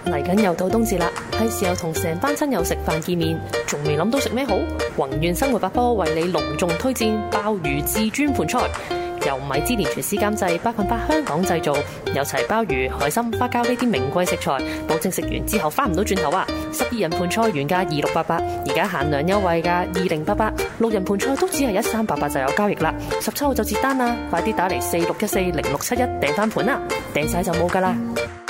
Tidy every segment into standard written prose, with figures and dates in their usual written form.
嚟緊又到冬至啦，係時候同成班親友食飯見面，仲未諗到食咩好？宏願生活百科為你隆重推薦鮑魚至尊盤菜，由米芝蓮廚師監製，100%香港製造，有齊鮑魚、海參、花膠呢啲名貴食材，保證食完之後翻唔到轉頭啊！12人盤菜原價2688，而家限量優惠價2088，6人盤菜都只係1388就有交易啦，17號就截單啦，快啲打嚟46140671訂翻盤啦，訂晒就冇噶啦！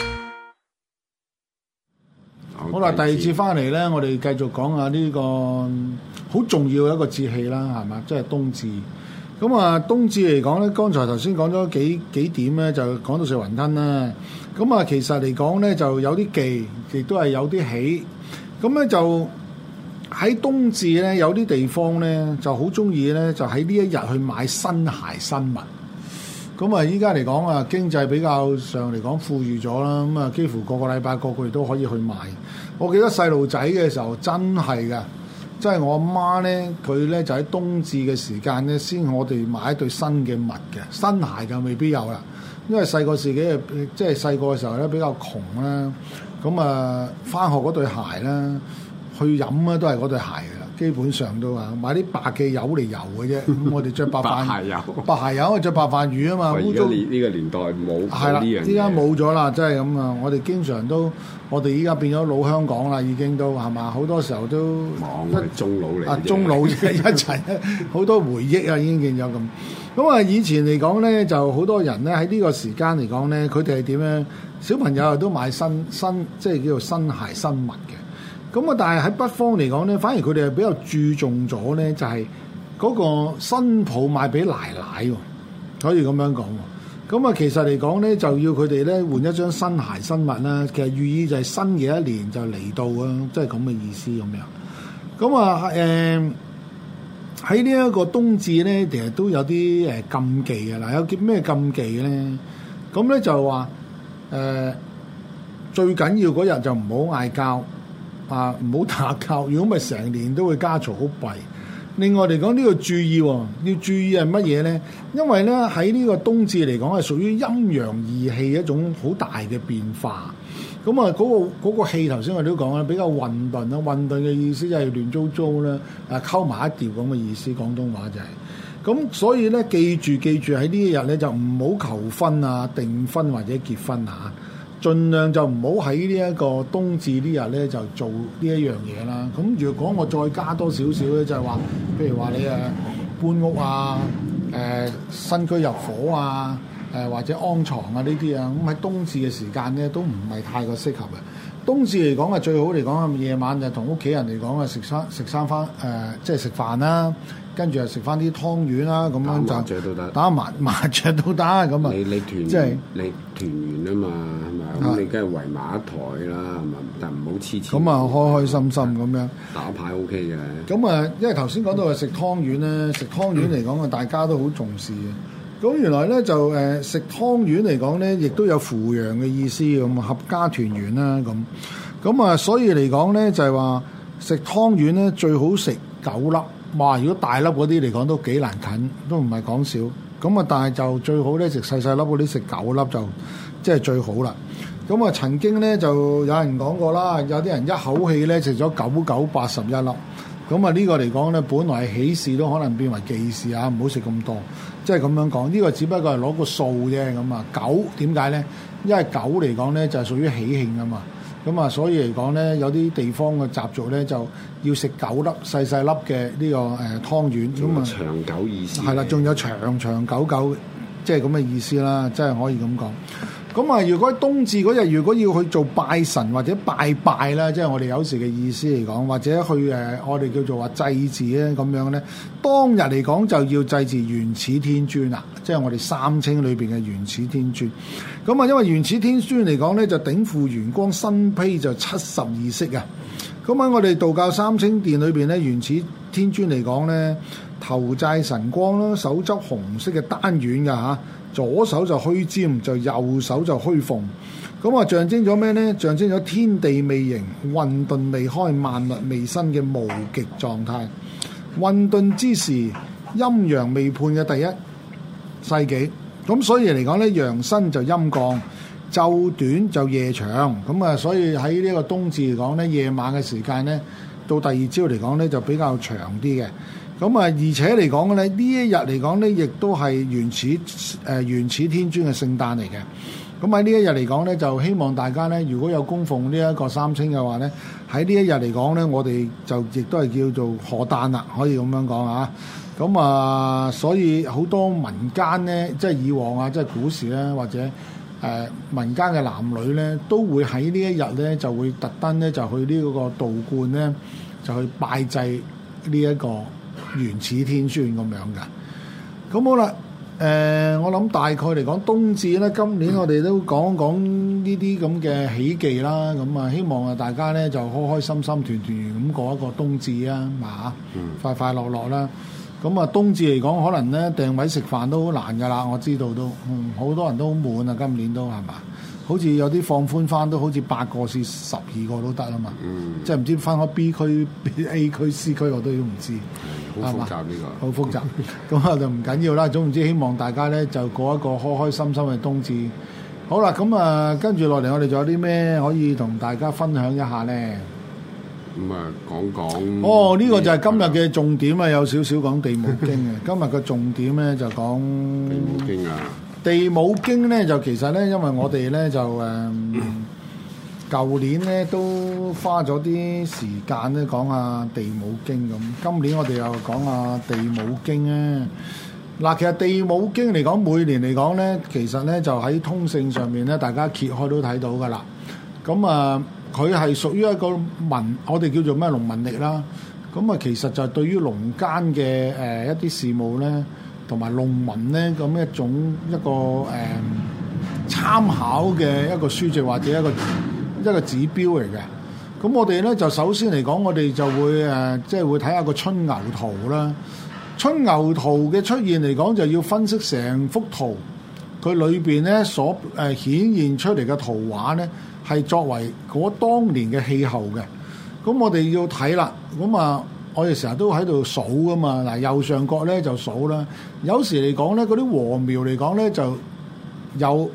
好啦，第二節翻嚟咧，我哋繼續講下呢個好重要嘅一個節氣啦，係嘛？即係冬至。咁啊，冬至嚟講咧，剛才頭先講咗幾點咧，就講到食雲吞啦。咁啊，其實嚟講咧，就有啲忌，亦都係有啲喜。咁咧就喺冬至咧，有啲地方咧就好中意咧，就喺呢一日去買新鞋新襪。咁啊，依家嚟講啊，經濟比較上嚟講富裕咗啦，咁啊，幾乎個個禮拜個個月都可以去買。我記得細路仔嘅時候真係㗎，即係我阿媽咧，佢咧就喺冬至嘅時間咧，先我哋買一對新嘅襪嘅，新鞋就未必有啦。因為細個自己即係細個嘅時候咧比較窮啦，咁啊返學嗰對鞋啦，去飲咧都係嗰對鞋嘅。基本上都話買啲白嘅油嚟油嘅啫，咁我哋着白鞋油，白鞋油着白飯魚啊嘛。 而家呢個年代冇係啦，依家冇咗啦，真係咁啊！我哋經常都，我哋依家變咗老香港啦，已經都係嘛？好多時候都中老嚟啊，中老一齊，好多回憶啊，已經見咗咁。咁啊，以前嚟講咧，就好多人咧喺呢個時間嚟講咧，佢哋係點咧？小朋友都買新即係叫做新鞋新襪嘅。咁啊！但係喺北方嚟講咧，反而佢哋係比較注重咗咧，就係嗰個新抱買俾奶奶喎，可以咁樣講喎。咁啊，其實嚟講咧，就要佢哋咧換一張新鞋新襪啦。其實寓意就係新嘅一年就嚟到啊，即係咁嘅意思咁樣。咁啊喺呢一個冬至咧，其實都有啲禁忌嘅啦。有啲咩禁忌咧？咁咧就話最緊要嗰日就唔好嗌交。啊！唔好打交，如果唔係成年都會家嘈好弊。另外嚟講呢個注意喎，要注意係乜嘢咧？因為咧喺呢個冬至嚟講係屬於陰陽義氣一種好大嘅變化。咁啊嗰個氣頭先我哋都講啦，比較混沌啦，混沌嘅意思就係亂糟糟啦，溝埋一碟咁嘅意思，廣東話就係。咁所以咧記住喺呢一日咧就唔好求婚啊、訂婚或者結婚嚇。盡量就唔好喺呢一個冬至呢日咧就做呢一樣嘢啦。咁如果我再加多少少咧，就係話，譬如話你搬屋啊、新居入伙啊、或者安床啊呢啲啊，咁喺冬至嘅時間咧都唔係太過適合嘅。冬至嚟講啊，最好嚟講夜晚就同屋企人嚟講啊，食翻即係食飯啦，跟住又食翻啲湯圓啦，咁樣就打麻雀都得，打麻雀都得咁啊！ 你團即係你團圓啊嘛，係咪？咁你梗係圍埋一台啦，係咪？但唔好黐黐。 咁啊，開開心心咁樣打牌 OK 嘅。 咁啊，因為頭先講到係食湯圓咧，食湯圓嚟講啊，大家都好重視嘅。咁原來咧就食湯圓嚟講咧，亦都有扶陽嘅意思咁，合家團圓啦咁。咁啊，所以嚟講咧就係話食湯圓咧最好食9粒。哇！如果大粒嗰啲嚟講都幾難啃，都唔係講少。咁啊，但係就最好咧食細粒嗰啲，食9粒就即係最好啦。咁啊，曾經咧就有人講過啦，有啲人一口氣咧食咗9981粒。咁啊，呢個嚟講咧，本來係喜事都可能變為忌事啊！唔好食咁多，即係咁樣講。呢個只不過係攞個數啫咁啊。9點解咧？因為9嚟講咧就係屬於喜慶啊嘛。咁啊，所以嚟講咧，有啲地方嘅習俗咧，就要食9粒細粒嘅呢個湯圓。咁啊， 長久意思。係啦，仲有長久，即係咁嘅意思啦，即係可以咁講。咁啊，如果冬至嗰日，如果要去做拜神或者拜啦，即係我哋有時嘅意思嚟講，或者去我哋叫做話祭祀咧咁樣咧，當日嚟講就要祭祀原始天尊啦，即係我哋三清裏邊嘅原始天尊。咁啊，因為原始天尊嚟講咧，就頂負元光，身披就72色啊。咁喺我哋道教三清殿裏邊咧，原始天尊嚟講咧，頭戴神光啦，手執紅色嘅單丸㗎嚇。左手就虛尖，就右手就虛鳳，咁啊象徵咗咩呢？象徵咗天地未形、混沌未開、萬物未生嘅無極狀態。混沌之時，陰陽未判嘅第一世紀，咁所以嚟講呢，陽生就陰降， 晝短就夜長，咁啊，所以喺呢個冬至嚟講咧，夜晚嘅時間咧，到第二朝嚟講咧就比較長啲嘅。咁啊，而且嚟講咧，呢一日嚟講咧，亦都係原始天尊嘅聖誕嚟嘅。咁喺呢一日嚟講咧，就希望大家咧，如果有供奉呢一個三清嘅話咧，喺呢一日嚟講咧，我哋就亦都係叫做賀誕啦，可以咁樣講啊。咁啊，所以好多民間咧，即係以往啊，即係古時咧，或者民間嘅男女咧，都會喺呢一日咧，就會特登咧就去呢個道觀咧，就去拜祭呢一個原始天尊咁樣嘅。咁好啦。我諗大概嚟講冬至咧，今年我哋都講講呢啲咁嘅喜忌啦，咁啊希望啊大家咧就開開心心、團團圓咁過一個冬至啊，快快樂樂啦。咁啊冬至嚟講，可能咧訂位食飯都好難噶啦，我知道都，好多人都好滿啊，今年都係嘛？好似有啲放寬翻，都好似8個至12個都得啊嘛，即係唔知分開 B 區、A 區、C 區我都唔知， 好複雜呢個， 好複雜。咁啊就唔緊要啦，總之希望大家咧就過一個開開心心嘅冬至。好啦，咁啊跟住落嚟，我哋仲有啲咩可以同大家分享一下咧？ 咁啊講講哦，呢個就係今日嘅重點啊，有少少講地母經嘅。今日嘅重點咧就講地母經啊。 地母經咧就其實咧，因為我哋咧就舊年咧都花咗啲時間咧講下地母經咁，今年我哋又講下地母經咧。嗱，其實地母經嚟講，每年嚟講咧，其實咧就喺通勝上面咧，大家揭開都睇到噶啦。咁啊，佢係屬於一個我哋叫做咩農民曆啦。咁啊，其實就係對於農間嘅一啲事務咧，同埋農民咧咁一個參考嘅一個書籍或者一個指標嚟嘅。咁我哋咧就首先嚟講，我哋就會即係會睇下個春牛圖啦。春牛圖嘅出現嚟講，就要分析成幅圖，佢裏邊咧所顯現出嚟嘅圖畫咧，係作為嗰當年嘅氣候嘅。咁我哋要睇啦。咁啊，我哋成日都喺度數噶嘛。嗱，右上角咧就數啦。有時嚟講咧，嗰啲禾苗嚟講咧就有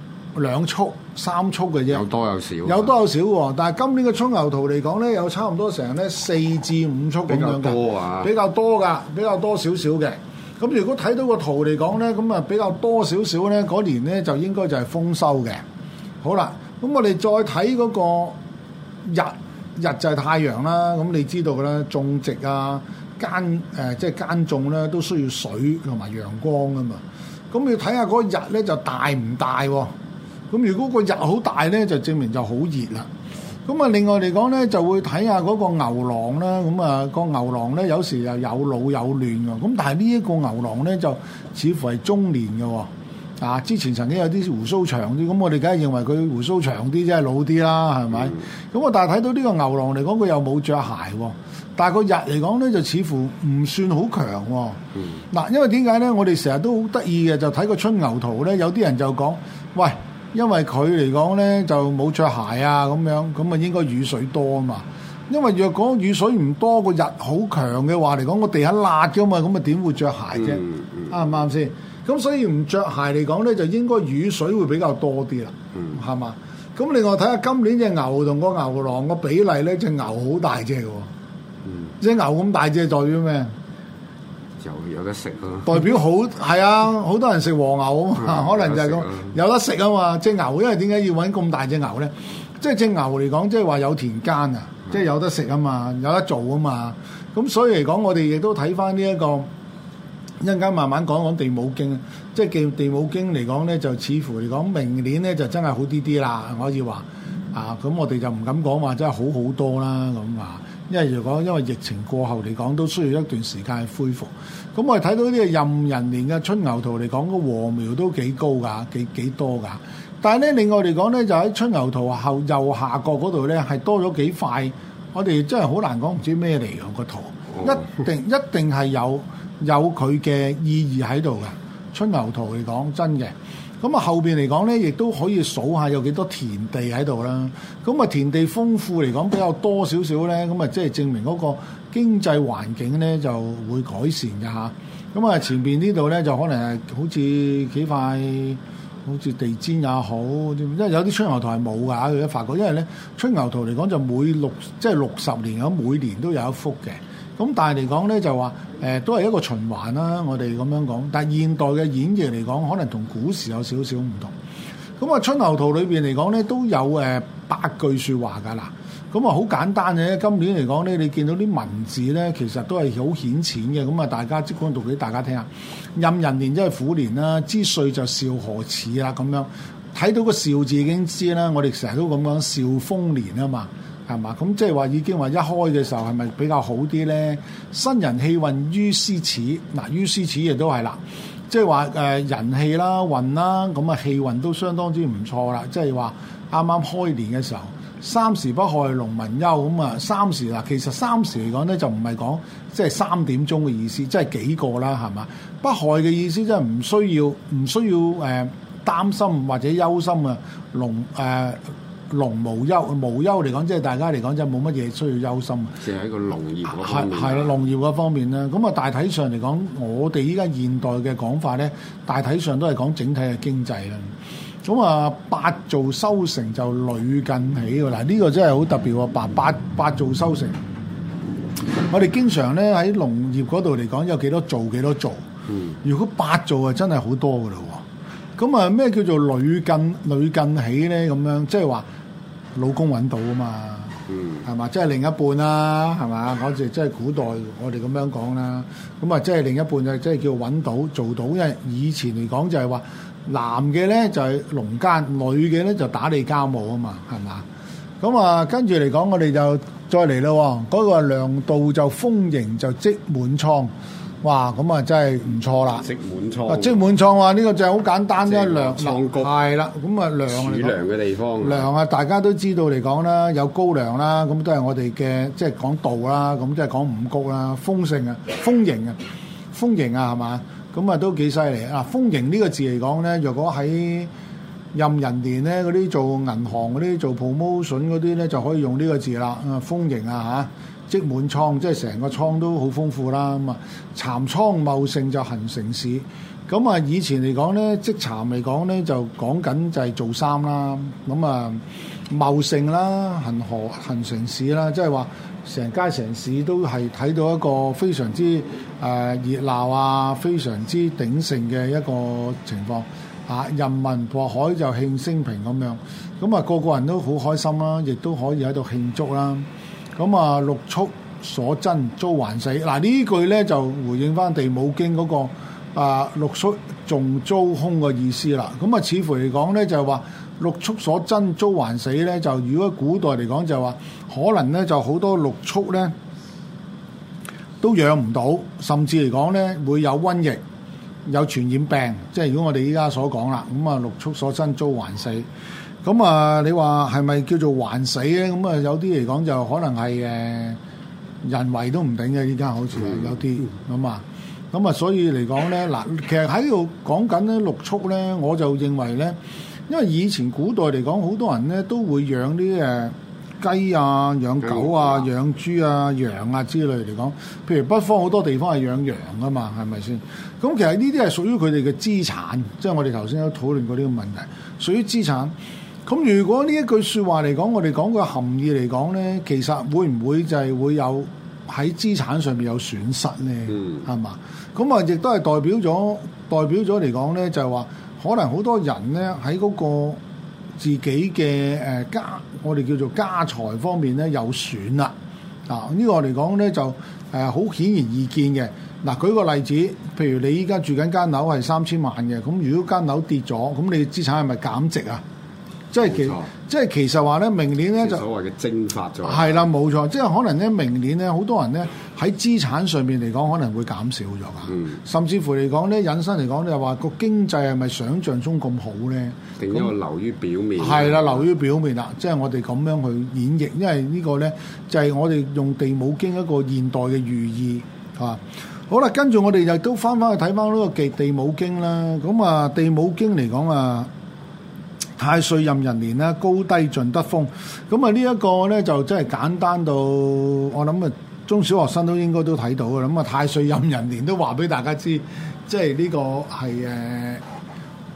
2束、3束嘅啫， 有多有少， 有多有少喎。但係今年嘅春牛圖嚟講咧，有差唔多成咧4至5束咁樣嘅，比較多㗎，比較多少少嘅。咁如果睇到個圖嚟講咧，咁啊比較多少少咧，嗰年咧就應該就係豐收嘅。好啦，咁我哋再睇嗰個日就係太陽啦。咁你知道嘅啦，種植啊、即係耕種咧，都需要水同埋陽光啊嘛。咁要睇下嗰個日咧就大唔大喎？咁如果個日好大咧，就證明就好熱啦。咁啊，另外嚟講咧，就會睇下嗰個牛郎啦。咁啊，個牛郎咧有時又有老有嫩㗎。咁但係呢一個牛郎咧，就似乎係中年嘅喎。啊，之前曾經有啲鬍鬚長啲，咁我哋梗係認為佢鬍鬚長啲，即係老啲啦，係咪？咁但係睇到呢個牛郎嚟講，佢又冇着鞋喎。但係個日嚟講咧，就似乎唔算好強喎。嗱，因為點解咧？我哋成日都好得意嘅，就睇個春牛圖咧，有啲人就講，喂，因為佢嚟講咧就冇着鞋啊，咁啊應該雨水多啊嘛。因為若果雨水唔多，個日好強嘅話嚟講，個地下辣㗎嘛，咁啊點會着鞋啫？啱唔啱先？咁所以唔着鞋嚟講咧，就應該雨水會比較多啲啦，係嘛？咁另外睇下今年隻牛同個牛郎個比例咧，隻牛好大隻嘅喎，隻牛咁大隻代表咩？ 有得食咯， 代表好係啊！好多人食和牛啊嘛，可能就係咁有得食啊嘛。隻牛因為點解要揾咁大隻牛咧？即係隻牛嚟講，即係話有田間啊，即係有得食啊嘛，有得做啊嘛。咁所以嚟講，我哋亦都睇翻呢一個。一陣間慢慢講講地母經，即係地母經嚟講咧，就似乎嚟講明年咧就真係好啲啲啦，可以話啊，咁我哋就唔敢講話真係好好多啦咁啊，因為如果因為疫情過後嚟講，都需要一段時間去恢復。咁我哋睇到呢個壬寅年嘅春牛圖嚟講，個禾苗都幾高㗎，幾多㗎。但係咧，另外嚟講咧，就喺春牛圖後右下角嗰度咧，係多咗幾塊，我哋真係好難講，唔知咩嚟㗎個圖，一定係有佢嘅意義喺度嘅。春牛圖嚟講真嘅，咁啊後邊嚟講咧，亦都可以數下有幾多田地喺度啦。咁啊田地豐富嚟講比較多少少咧，咁啊即係證明嗰個經濟環境咧就會改善嘅嚇。咁啊前邊呢度咧就可能係好似幾塊好似地氈也好，因為有啲春牛圖係冇㗎，佢一發覺，因為咧春牛圖嚟講就即係60年咁，每年都有一幅嘅。咁但係嚟講咧就話都係一個循環啦，我哋咁樣講。但係現代嘅演繹嚟講，可能同古時有少少唔同。咁啊春牛圖裏邊嚟講咧都有8句説話㗎啦。咁啊好簡單嘅，今年嚟講咧，你見到啲文字咧，其實都係好顯淺嘅。咁啊，大家即管讀俾大家聽下。壬寅年即係虎年啦，之歲就兆何始啦，咁樣睇到個兆字已經知啦。我哋成日都咁講兆豐年啊嘛，係嘛？咁即係話已經話一開嘅時候係咪比較好啲咧？新人氣運於斯始，嗱於斯始亦都係啦，即係話人氣啦、運啦，咁啊氣運都相當之唔錯啦。即係話啱啱開年嘅時候。三時不害農民憂，咁啊三時嗱，其實三時嚟講咧就唔係講即係3點鐘嘅意思，即係幾個啦，係嘛？不害嘅意思即係唔需要擔心或者憂心啊，農無憂嚟講，即係大家嚟講就冇乜嘢需要憂心。 即係喺個農業嗰方面。 係啦，農業嗰方面咧，咁啊大體上嚟講，我哋依家現代嘅講法咧，大體上都係講整體嘅經濟啦。咁啊，八造收成就屢近起喎。嗱，呢個真係好特別喎。八造收成，我哋經常咧喺農業嗰度嚟講，有幾多造幾多造。如果八造啊，真係好多噶咯喎。咁啊，咩叫做屢近起咧？咁樣即係話老公揾到啊嘛。係嘛？即係另一半啦，係嘛？嗰時即係古代我哋咁樣講啦。咁啊，即係另一半就即係叫揾到做到，因為以前嚟講就係話。男嘅咧就係農耕，女嘅咧就打理家務啊嘛，係嘛？咁啊，跟住嚟講，我哋就再嚟咯。嗰個糧道就豐盈就積滿倉，哇！咁啊真係唔錯啦。積滿倉，積滿倉話呢個就係好簡單啫，糧倉谷係啦。咁啊糧儲糧嘅地方，糧啊大家都知道嚟講啦，有高粱啦，咁都係我哋嘅即係講稻啦，咁即係講五穀啦，豐盛啊，豐盈啊，係嘛？咁啊都幾犀利啊！豐盈呢個字嚟講咧，若果喺壬寅年咧，嗰啲做銀行嗰啲做 promotion 嗰啲咧，就可以用呢個字啦。啊，豐盈啊嚇，積滿倉，即係成個倉都好豐富啦。咁啊，蠶倉茂盛就行成市。咁啊，以前嚟講咧，積蠶嚟講咧，就講緊就係做衫啦。咁啊，茂盛啦，行成市啦，即係話。成街成市都係睇到一個非常之熱鬧啊，非常之鼎盛嘅一個情況啊！人民過海就慶升平咁樣，咁啊個個人都好開心啦，亦都可以喺度慶祝啦。咁啊六畜所珍遭還死，嗱呢句咧就回應翻地母經嗰個六畜仲遭凶嘅意思啦。咁啊似乎嚟講咧就係話。六畜所珍遭還死咧，就如果古代嚟講就話，可能咧就好多六畜咧都養唔到，甚至嚟講咧會有瘟疫、有傳染病，即係如果我哋依家所講啦，咁啊六畜所珍遭還死，咁啊你話係咪叫做還死咧？咁啊有啲嚟講就可能係人為都唔定嘅，依家好似有啲咁啊，所以嚟講咧嗱，其實喺度講緊咧六畜咧，我就認為咧。因為以前古代嚟講，好多人咧都會養啲雞啊、養狗啊、養豬啊、羊啊之類嚟講。譬如北方好多地方係養羊噶嘛，係咪先？咁其實呢啲係屬於佢哋嘅資產，即係我哋頭先都討論過呢個問題，屬於資產。咁如果呢一句説話嚟講，我哋講個含義嚟講咧，其實會唔會就係會有喺資產上面有損失咧？係嘛？咁啊，亦都係代表咗嚟講咧，就係話。可能好多人咧喺嗰個自己嘅我哋叫做家財方面咧有損啦。呢個嚟講咧就好顯而易見嘅。嗱，舉個例子，譬如你依家住緊間樓係3000萬嘅，咁如果間樓跌咗，咁你資產係咪減值啊？即係其實話咧，明年咧就所謂嘅蒸發咗。係啦，冇錯，即係可能咧，明年咧，好多人咧喺資產上面嚟講，可能會減少咗㗎。甚至乎嚟講咧，引申嚟講，就話個經濟係咪想像中咁好咧？定一個流於表面。係啦，流於表面啦，即係我哋咁樣去演繹，因為呢個咧就係我哋用地母經一個現代嘅寓意嚇。好啦，跟住我哋就都翻去睇翻呢個地母經啦。咁啊，地母經嚟講啊。太歲壬寅年啦，高低盡得豐。咁啊，呢一個咧就真係簡單到，我諗啊，中小學生都應該都睇到嘅。咁啊，太歲壬寅年都話俾大家知，即係呢個係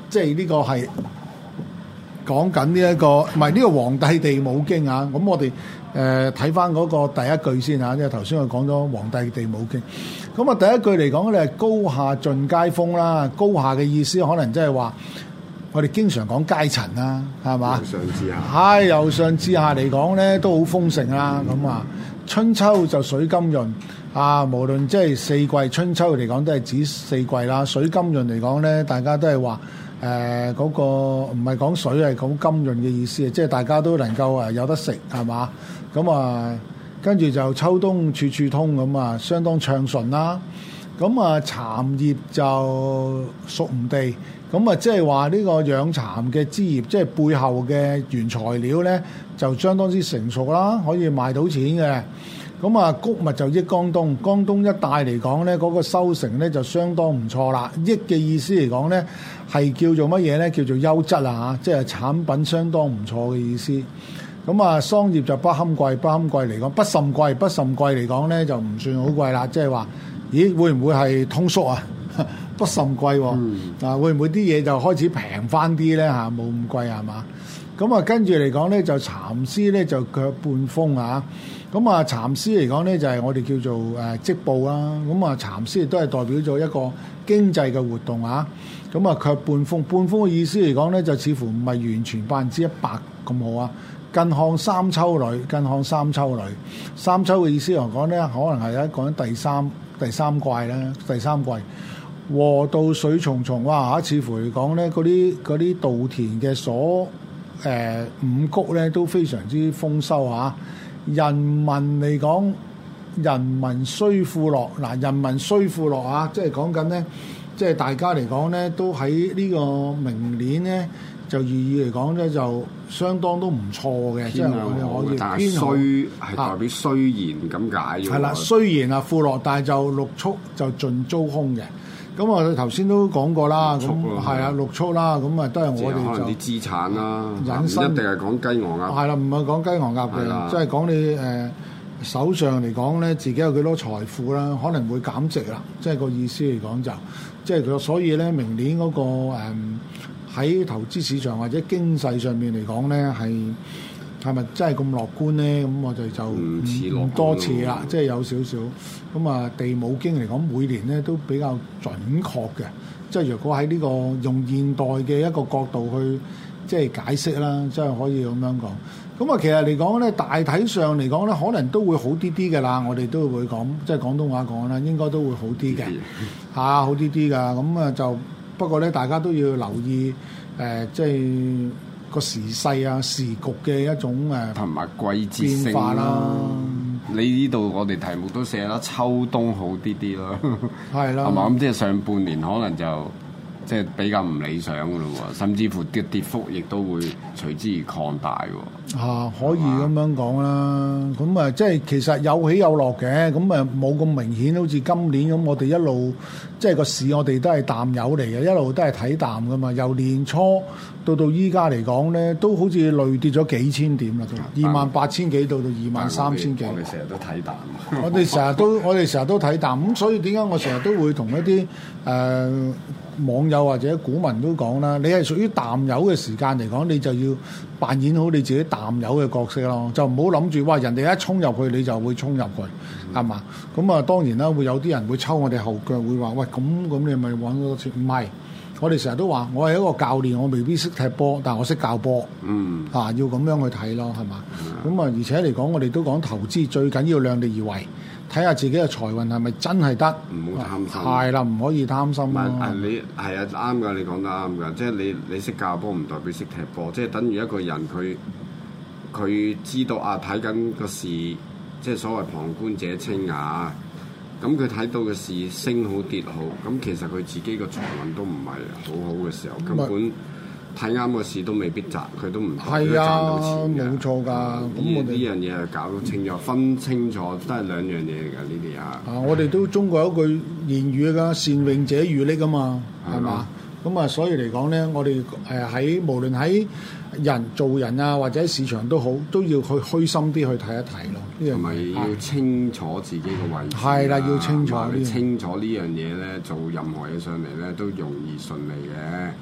即係呢個係講緊呢一個，唔係呢個皇帝地母經啊。咁我哋睇翻嗰個第一句先嚇，因為頭先我講咗皇帝地母經。咁啊第一句嚟講咧，高下盡皆豐啦。高下嘅意思可能即係話，我哋經常講階層啦，係嘛？ 由上至下。 係由上至下嚟講咧，都好豐盛啦。咁啊，春秋就水甘潤啊，無論即係四季，春秋嚟講都係指四季啦。水甘潤嚟講咧，大家都係話嗰個唔係講水，係講甘潤嘅意思，即係大家都能夠有得食，係嘛？咁啊，跟住就秋冬處處通咁啊，相當暢順啦。咁啊，蠶葉就熟唔地，咁啊，即係話呢個養蠶嘅枝葉，即係背後嘅原材料咧，就相當之成熟啦，可以賣到錢嘅。咁啊，穀物就益江東，江東一帶嚟講咧，嗰個收成咧就相當唔錯啦。益嘅意思嚟講咧，係叫做乜嘢咧？叫做優質啊，即係產品相當唔錯嘅意思。咁啊，桑葉就不堪貴，不堪貴嚟講不甚貴，不甚貴嚟講咧就唔算好貴啦。即係話，咦會唔會係通縮啊？不甚貴喎，啊會唔會啲嘢就開始平翻啲咧嚇？冇咁貴係嘛？咁啊跟住嚟講咧，就蠶絲咧就卻半豐啊。咁啊蠶絲嚟講咧就係我哋叫做織布啦。咁啊蠶絲亦都係代表咗一個經濟嘅活動啊。咁啊卻半豐，半豐嘅意思嚟講咧就似乎唔係完全100%咁好啊。近看三秋裏，近看三秋裏，三秋嘅意思嚟講咧，可能係講緊第三季啦，第三季。禾稻水重重，哇！似乎嚟講咧，嗰啲稻田嘅五穀咧都非常之豐收嚇。人民嚟講，人民雖富樂，嗱，人民雖富樂啊，即係講緊咧，即係大家嚟講咧，都喺呢個明年咧。就寓意嚟講咧，就相當都唔錯嘅，即係我哋可以。 但係雖係代表雖然咁解嘅。係啦， 雖然啊富樂，但係就六畜就盡租空嘅。咁我頭先都講過啦，咁係啊六畜啦，咁啊都係我哋就可能啲資產啦， 引申一定係講雞鵝鴨。 係啦，唔係講雞鵝鴨嘅，即係講你手上嚟講咧，自己有幾多財富啦，可能會減值啦，即係個意思嚟講就，即係佢所以咧，明年嗰個喺投資市場或者經濟上面嚟講咧，係咪真係咁樂觀咧？咁我哋就唔多似啦，即係有少少咁啊。地母經嚟講，每年咧都比較準確嘅，即係如果喺呢個用現代嘅一個角度去即係解釋啦，即係可以咁樣講。咁啊，其實嚟講咧，大體上嚟講咧，可能都會好啲啲嘅啦。我哋都會講，即係廣東話講啦，應該都會好啲嘅嚇，好啲啲噶。咁啊就。不過咧，大家都要留意即係個時勢啊、時局嘅一種同埋季節性化啦。 你呢度我哋題目都寫啦，秋冬好啲啲咯， 係啦， 係嘛？咁即係上半年可能就即係比較唔理想噶咯喎，甚至乎啲跌幅亦都會隨之而擴大喎。 可以咁樣講啦。咁啊，即係其實有起有落嘅，咁啊冇咁明顯，好似今年咁，我哋一路即係個市，我哋都係淡友嚟嘅，一路都係睇淡噶嘛。由年初到依家嚟講咧，都好似累跌咗幾千點啦，都28,000幾到23,000幾。 我哋成日都睇淡。 我哋成日都睇淡，咁所以點解我成日都會同一啲網友或者股民都講啦，你係屬於淡友嘅時間嚟講，你就要扮演好你自己淡友嘅角色咯，就唔好諗住哇人哋一衝入去你就會衝入去，係嘛？咁啊當然啦，會有啲人會抽我哋後腳，會話喂咁你咪揾多錢？唔係，我哋成日都話我係一個教練，我未必識踢波，但係我識教波。要咁樣去睇咯，係嘛？咁啊而且嚟講，我哋都講投資最緊要量力而為。睇下自己嘅財運係咪真係得？ 唔好貪心。 係啦，唔可以貪心咯。 你係啊，啱㗎，你講得啱㗎。即係你識教波唔代表識踢波，即係等於一個人佢知道啊，睇緊個市，即係所謂旁觀者清啊。咁佢睇到嘅市升好跌好，咁其實佢自己個財運都唔係好好嘅時候，根本。睇啱個市都未必賺，佢都唔係賺到錢嘅。冇錯㗎。咁我哋呢樣嘢係搞到清楚，分清楚都係兩樣嘢嚟㗎。呢啲嚇。我哋都中國有一句言語㗎，善泳者愈溺啊嘛，係嘛？咁啊，所以嚟講咧，我哋喺無論喺做人啊，或者市場都好，都要去虛心啲去睇一睇咯。呢樣同埋要清楚自己個位置。係啦，要清楚。清楚呢樣嘢咧，做任何嘢上嚟咧都容易順利嘅。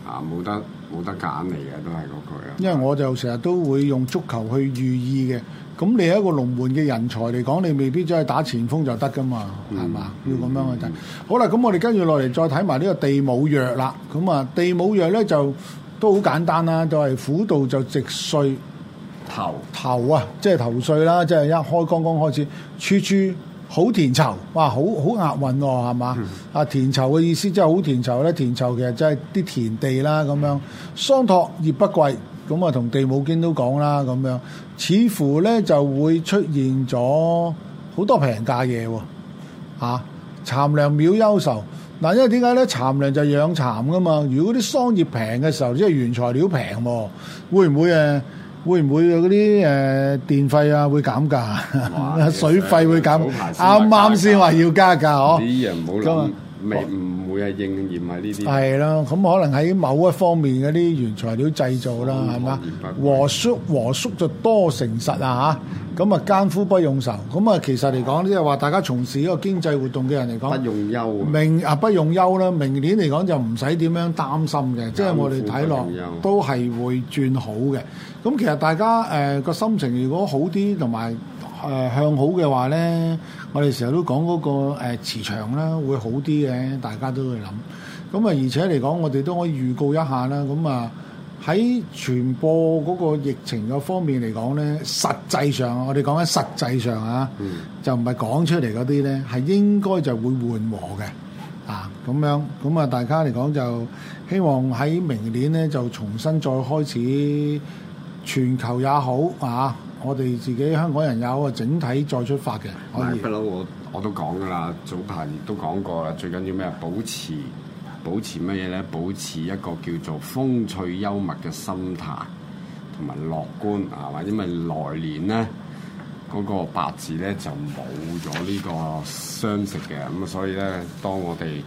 冇得揀嚟嘅，都係嗰句啊。 因為我就成日都會用足球去寓意嘅。咁你係一個龍門嘅人才嚟講，你未必真係打前鋒就得噶嘛，係嘛？要咁樣去睇。好啦，咁我哋跟住落嚟再睇埋呢個地母藥啦。咁啊，地母藥咧就都好簡單啦，就係苦度就直歲頭啊，即係頭歲啦，即係一開剛剛開始，處處好田疇，哇，好押韻喎，係嘛？啊，田疇嘅意思即係好田疇咧，田疇其實即係啲田地啦咁樣。桑托葉不貴。咁啊，同地母經都講啦，咁樣似乎咧就會出現咗好多平價嘢喎，蠶糧苗憂愁嗱，因為點解咧？蠶糧就養蠶噶嘛，如果啲桑葉平嘅時候，即係原材料平喎，會唔會嗰啲電費啊會減價，水費會減？啱啱先話要加價嗬？ 啲人唔好諗，唔會係應驗喺呢啲。 係咯，咁可能喺某一方面嗰啲原材料製造啦，係嘛？和叔就多誠實啊嚇，咁啊艱苦不用愁，咁啊其實嚟講，即係話大家從事呢個經濟活動嘅人嚟講， 不用憂不用憂啦。明年嚟講就唔使點樣擔心嘅，即係我哋睇落都係會轉好嘅。咁其實大家個心情如果好啲，同埋向好嘅話咧，我哋成日都講嗰個磁場啦，會好啲嘅，大家都會諗。咁啊，而且嚟講，我哋都可以預告一下啦。咁啊，喺傳播嗰個疫情嘅方面嚟講咧，實際上我哋講緊實際上啊，就唔係講出嚟嗰啲咧，係應該就會緩和嘅啊。咁樣咁啊，大家嚟講就希望喺明年咧就重新再開始，全球也好啊。我哋自己香港人有個整體再出發嘅，可以。 不嬲我都講噶啦，早排亦都講過啦。最緊要咩？保持乜嘢咧？保持一個叫做風趣幽默嘅心態，同埋樂觀啊！或者咪來年咧嗰個八字咧就冇咗呢個傷食嘅，咁啊，所以咧當我哋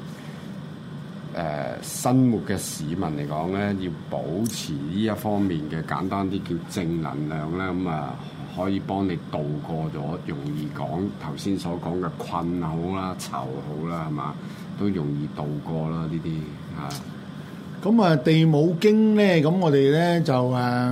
生活嘅市民嚟講咧，要保持呢一方面嘅簡單啲叫正能量咧，咁啊可以幫你渡過咗容易講頭先所講嘅困好啦、愁好啦，係嘛，都容易渡過啦呢啲嚇。 咁啊，地母經咧，咁我哋咧就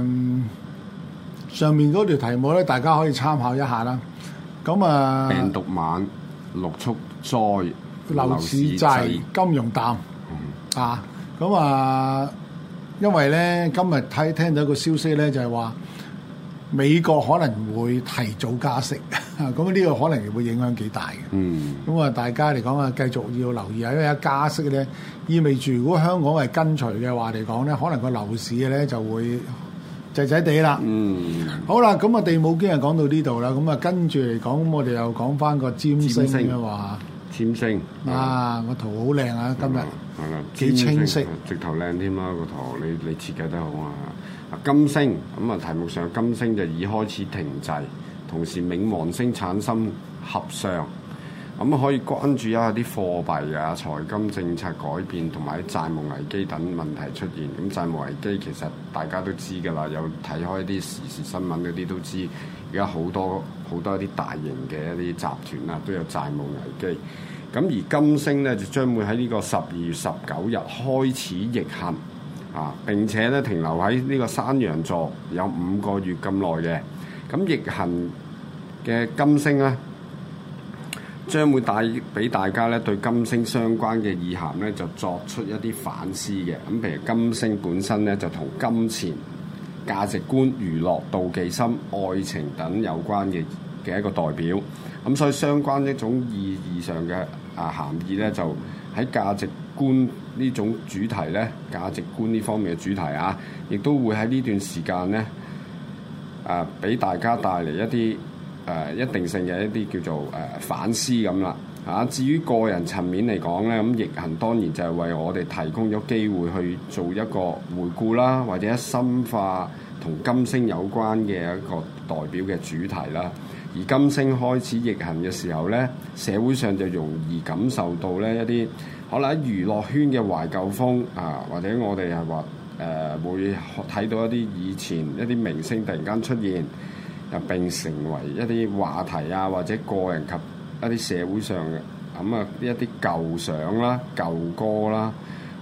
上面嗰條題目咧，大家可以參考一下啦。咁啊， 病毒晚、六畜災、 樓市滯、金融淡。啊，咁啊，因為咧今日聽到一個消息咧，就係話美國可能會提早加息，咁呢個可能會影響幾大嘅。咁啊，大家嚟講啊，繼續要留意啊，因為一加息咧，意味住如果香港係跟隨嘅話嚟講咧，可能個樓市咧就會滯滯地啦。好啦，咁啊，地母經就講到呢度啦，咁啊跟住嚟講，咁我哋又講翻個占星嘅話。 占星啊，個圖好靚啊！今日係啦， 幾清晰， 直頭靚添啦個圖，你設計得好啊！金星咁啊，題目上金星就已開始停滯，同時冥王星產生合相，咁可以關注一下啲貨幣啊、財金政策改變同埋債務危機等問題出現。咁債務危機其實大家都知㗎啦，有睇開啲時事新聞嗰啲都知，而家好多一啲大型嘅一啲集團啊都有債務危機。咁而金星咧就將會喺呢個12月19日開始逆行啊，並且咧停留喺呢個山羊座有5個月咁耐嘅。咁逆行嘅金星咧，將會帶俾大家咧對金星相關嘅意涵咧就作出一啲反思嘅。咁譬如金星本身咧就同金錢、價值觀、娛樂、妒忌心、愛情等有關嘅一個代表。咁所以相關一種意義上嘅含義咧，就喺價值觀呢種主題咧，價值觀呢方面嘅主題啊，亦都會喺呢段時間咧，俾大家帶嚟一啲一定性嘅一啲叫做反思咁啦嚇。至於個人層面嚟講咧，咁逆行當然就係為我哋提供咗機會去做一個回顧啦，或者深化同金星有關嘅一個代表嘅主題啦。而金星開始逆行嘅時候咧，社會上就容易感受到咧一啲可能喺娛樂圈嘅懷舊風啊，或者我哋係話會睇到一啲以前一啲明星突然間出現，並成為一啲話題啊，或者個人及一啲社會上嘅咁一啲舊相啦、舊歌啦，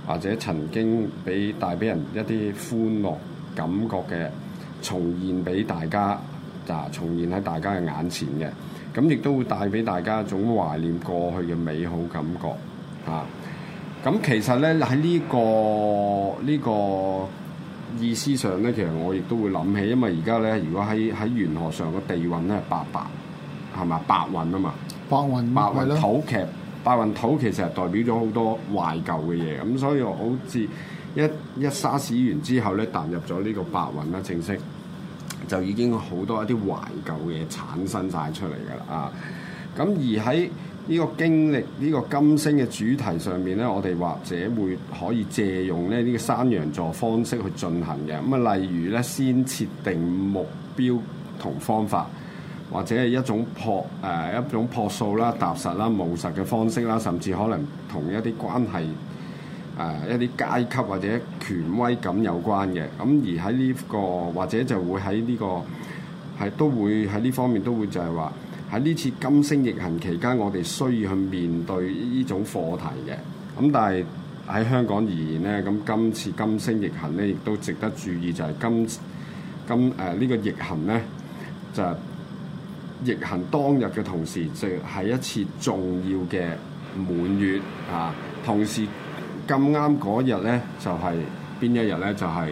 或者曾經帶俾人一啲歡樂感覺嘅重現俾大家，重現喺大家嘅眼前嘅，咁亦都會帶俾大家一種懷念過去嘅美好感覺嚇。咁其實咧喺呢個意思上咧，其實我亦都會諗起，因為而家咧，如果喺玄學上個地運咧係八係嘛，八運啊嘛，八運土劇，八運土其實係代表咗好多懷舊嘅嘢，咁所以我好似一沙士完之後咧，踏入咗呢個八運啦，正式就已經好多一啲懷舊嘅嘢產生晒出嚟㗎啦啊！咁而喺呢個經歷呢個金星嘅主題上面咧，我哋或者會可以借用咧呢個山羊座方式去進行嘅。咁啊，例如咧先設定目標同方法，或者係一種樸素啦、踏實啦、務實嘅方式啦，甚至可能同一啲關係一啲階級或者權威感有關嘅。咁而喺呢個或者就會喺呢個都會喺呢方面都會就係話。喺呢次金星逆行期間，我哋需要去面對呢種課題嘅。咁但係喺香港而言咧，咁今次金星逆行咧，亦都值得注意，就係呢個逆行咧，就係逆行當日嘅同時，就係一次重要嘅滿月啊。同時咁啱嗰日咧，就係邊一日咧？就係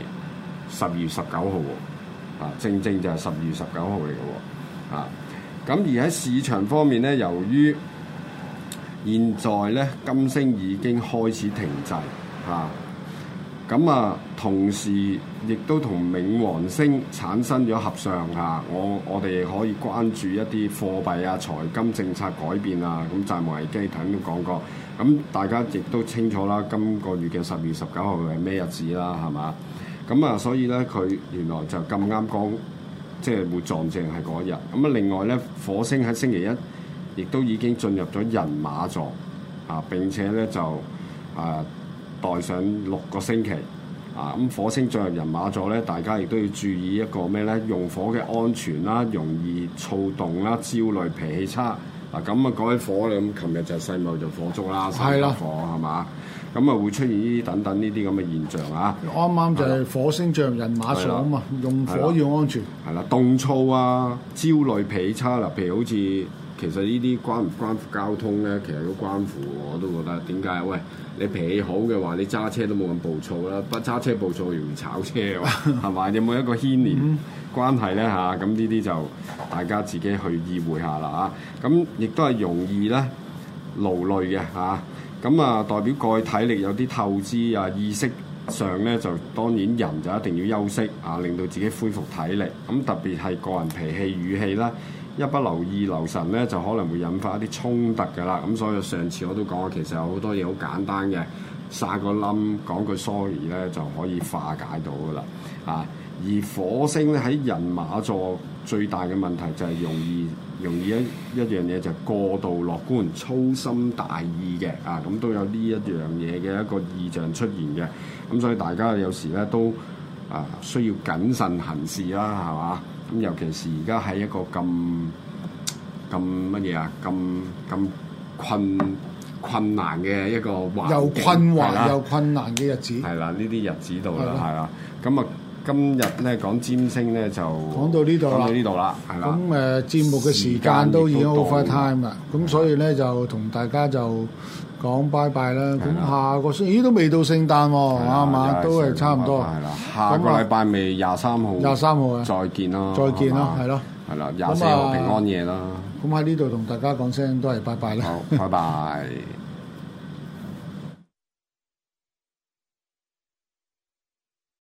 12月19號喎。啊，正就係12月19號嚟嘅喎。啊。咁而喺市場方面咧，由於現在咧金星已經開始停滯嚇，咁同時亦都同冥王星產生咗合相嚇，我哋可以關注一啲貨幣啊、財金政策改變啊，咁債務危機頭先都講過，咁大家亦都清楚啦，今個月嘅12月19號係咩日子啦，係嘛？咁所以咧佢原來就咁啱講。即係會撞正係嗰一日，咁另外咧，火星喺星期一亦都已經進入咗人馬座啊，並且咧就待上6個星期啊。咁火星進入人馬座咧，大家亦都要注意一個咩咧？用火嘅安全啦，容易躁動啦、焦慮、脾氣差嗱。咁講起火咧，咁琴日就世貿就火燭啦，三級火係嘛？咁會出現呢啲等等呢啲咁嘅現象啊！ 啱啱就係火星進入人馬座啊嘛，用火要安全。 係啦，凍燥啊、焦慮、脾氣差啦，譬如好似其實呢啲關唔關乎交通咧？其實都關乎，我都覺得點解？喂，你脾氣好嘅話，你揸車都冇咁暴躁啦，不揸車暴躁容易炒車喎，係嘛？有冇一個牽連關係咧嚇？咁呢啲就大家自己去意會下啦嚇。咁亦都係容易咧勞累嘅嚇。咁代表個體力有啲透支啊，意識上咧就當然人就一定要休息啊，令到自己恢復體力。咁特別係個人脾氣語氣啦，一不留意留神咧，就可能會引發一啲衝突㗎啦。咁所以上次我都講過，其實有好多嘢好簡單嘅，撒個冧講句 sorry 咧就可以化解到㗎啦。啊，而火星咧喺人馬座最大嘅問題就係容易一樣嘢就係過度樂觀、粗心大意嘅啊，咁都有呢一樣嘢嘅一個異象出現嘅，咁所以大家有時咧都需要謹慎行事啦，係嘛？咁尤其是而家喺一個咁乜嘢啊，咁困難嘅一個環境， 又困惑又困難嘅日子， 係啦，呢啲日子度啦，係啦，咁今日咧講占星咧就講到呢度啦， 係啦。 咁節目嘅時間都已經 over time 啦，咁所以咧就同大家就講拜拜啦。咁下個星期都未到聖誕喎，啱嘛？都係差唔多。 係啦，下個禮拜未23號。23號啊！再見啦！ 再見啦，係咯。 係啦，24號平安夜啦。 咁喺呢度同大家講聲都係拜拜啦。 好，拜拜。